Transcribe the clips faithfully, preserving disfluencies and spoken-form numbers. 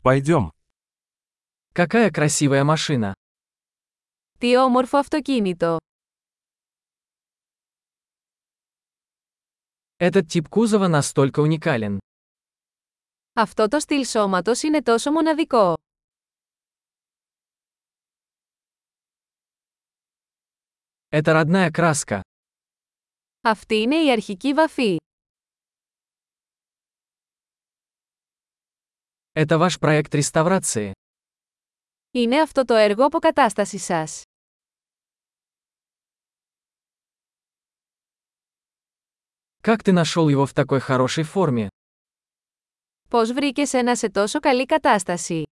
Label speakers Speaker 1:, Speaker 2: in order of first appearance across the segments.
Speaker 1: Пойдем.
Speaker 2: Какая красивая машина.
Speaker 3: Τι όμορφο αυτοκίνητο.
Speaker 2: Этот тип кузова настолько уникален.
Speaker 3: Αυτό το στυλ σώματος είναι τόσο μοναδικό.
Speaker 2: Это родная краска.
Speaker 3: Αυτή είναι η αρχική βαφή.
Speaker 2: Это ваш проект реставрации.
Speaker 3: Είναι αυτό το έργο αποκατάστασης σας.
Speaker 2: Как ты нашел его в такой хорошей форме?
Speaker 3: Πώς βρήκες ένα σε τόσο καλή κατάσταση?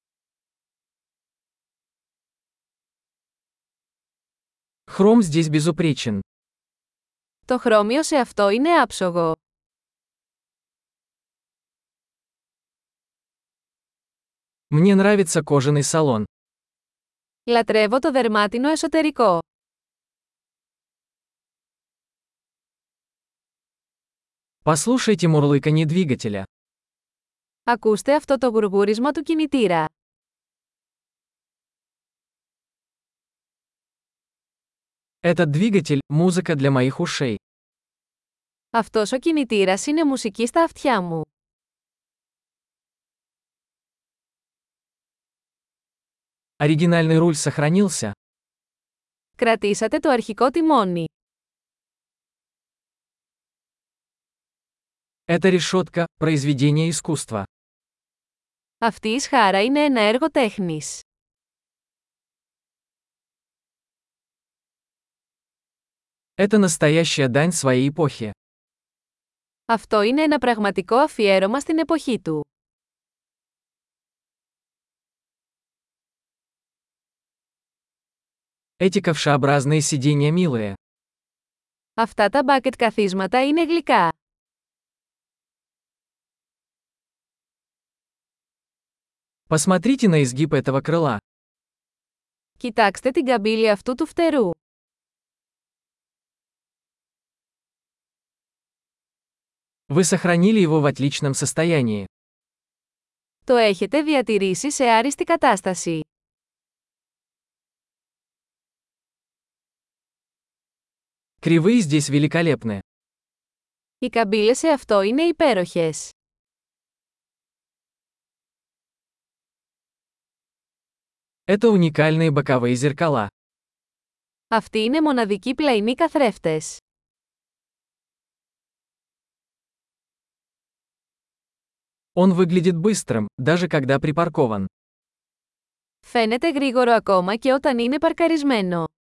Speaker 2: Хром здесь безупречен.
Speaker 3: Το χρώμιο σε αυτό είναι άψογο.
Speaker 2: Мне нравится кожаный салон.
Speaker 3: Λατρεύω το δερμάτινο εσωτερικό.
Speaker 2: Послушайте мурлыканье двигателя.
Speaker 3: Ακούστε αυτό το γουργούρισμα του κινητήρα.
Speaker 2: Этот двигатель – музыка для моих ушей.
Speaker 3: Αυτός ο κινητήρας είναι μουσική στα αυτιά μου.
Speaker 2: Оригинальный руль сохранился.
Speaker 3: Κρατήσατε το αρχικό τιμόνι.
Speaker 2: Эта решетка – произведение искусства.
Speaker 3: Αυτή η σχάρα είναι ένα έργο τέχνης.
Speaker 2: Это настоящая дань своей эпохи.
Speaker 3: Αυτό είναι ένα πραγματικό αφιέρωμα στην εποχή του.
Speaker 2: Эти ковшеобразные сиденья милые.
Speaker 3: Αυτά τα μπάκετ καθίσματα είναι γλυκά.
Speaker 2: Посмотрите на изгиб этого крыла.
Speaker 3: Κοιτάξτε την καμπύλη αυτού του φτερού.
Speaker 2: Вы сохранили его в отличном состоянии.
Speaker 3: Το έχετε διατηρήσει σε άριστη κατάσταση.
Speaker 2: Кривые здесь великолепны.
Speaker 3: Οι καμπύλες σε αυτό είναι υπέροχες.
Speaker 2: Это уникальные боковые зеркала.
Speaker 3: Αυτοί είναι μοναδικοί πλαϊνοί καθρέφτες.
Speaker 2: Он выглядит быстрым, даже когда припаркован.
Speaker 3: Φαίνεται γρήγορο ακόμα και όταν είναι παρκαρισμένο.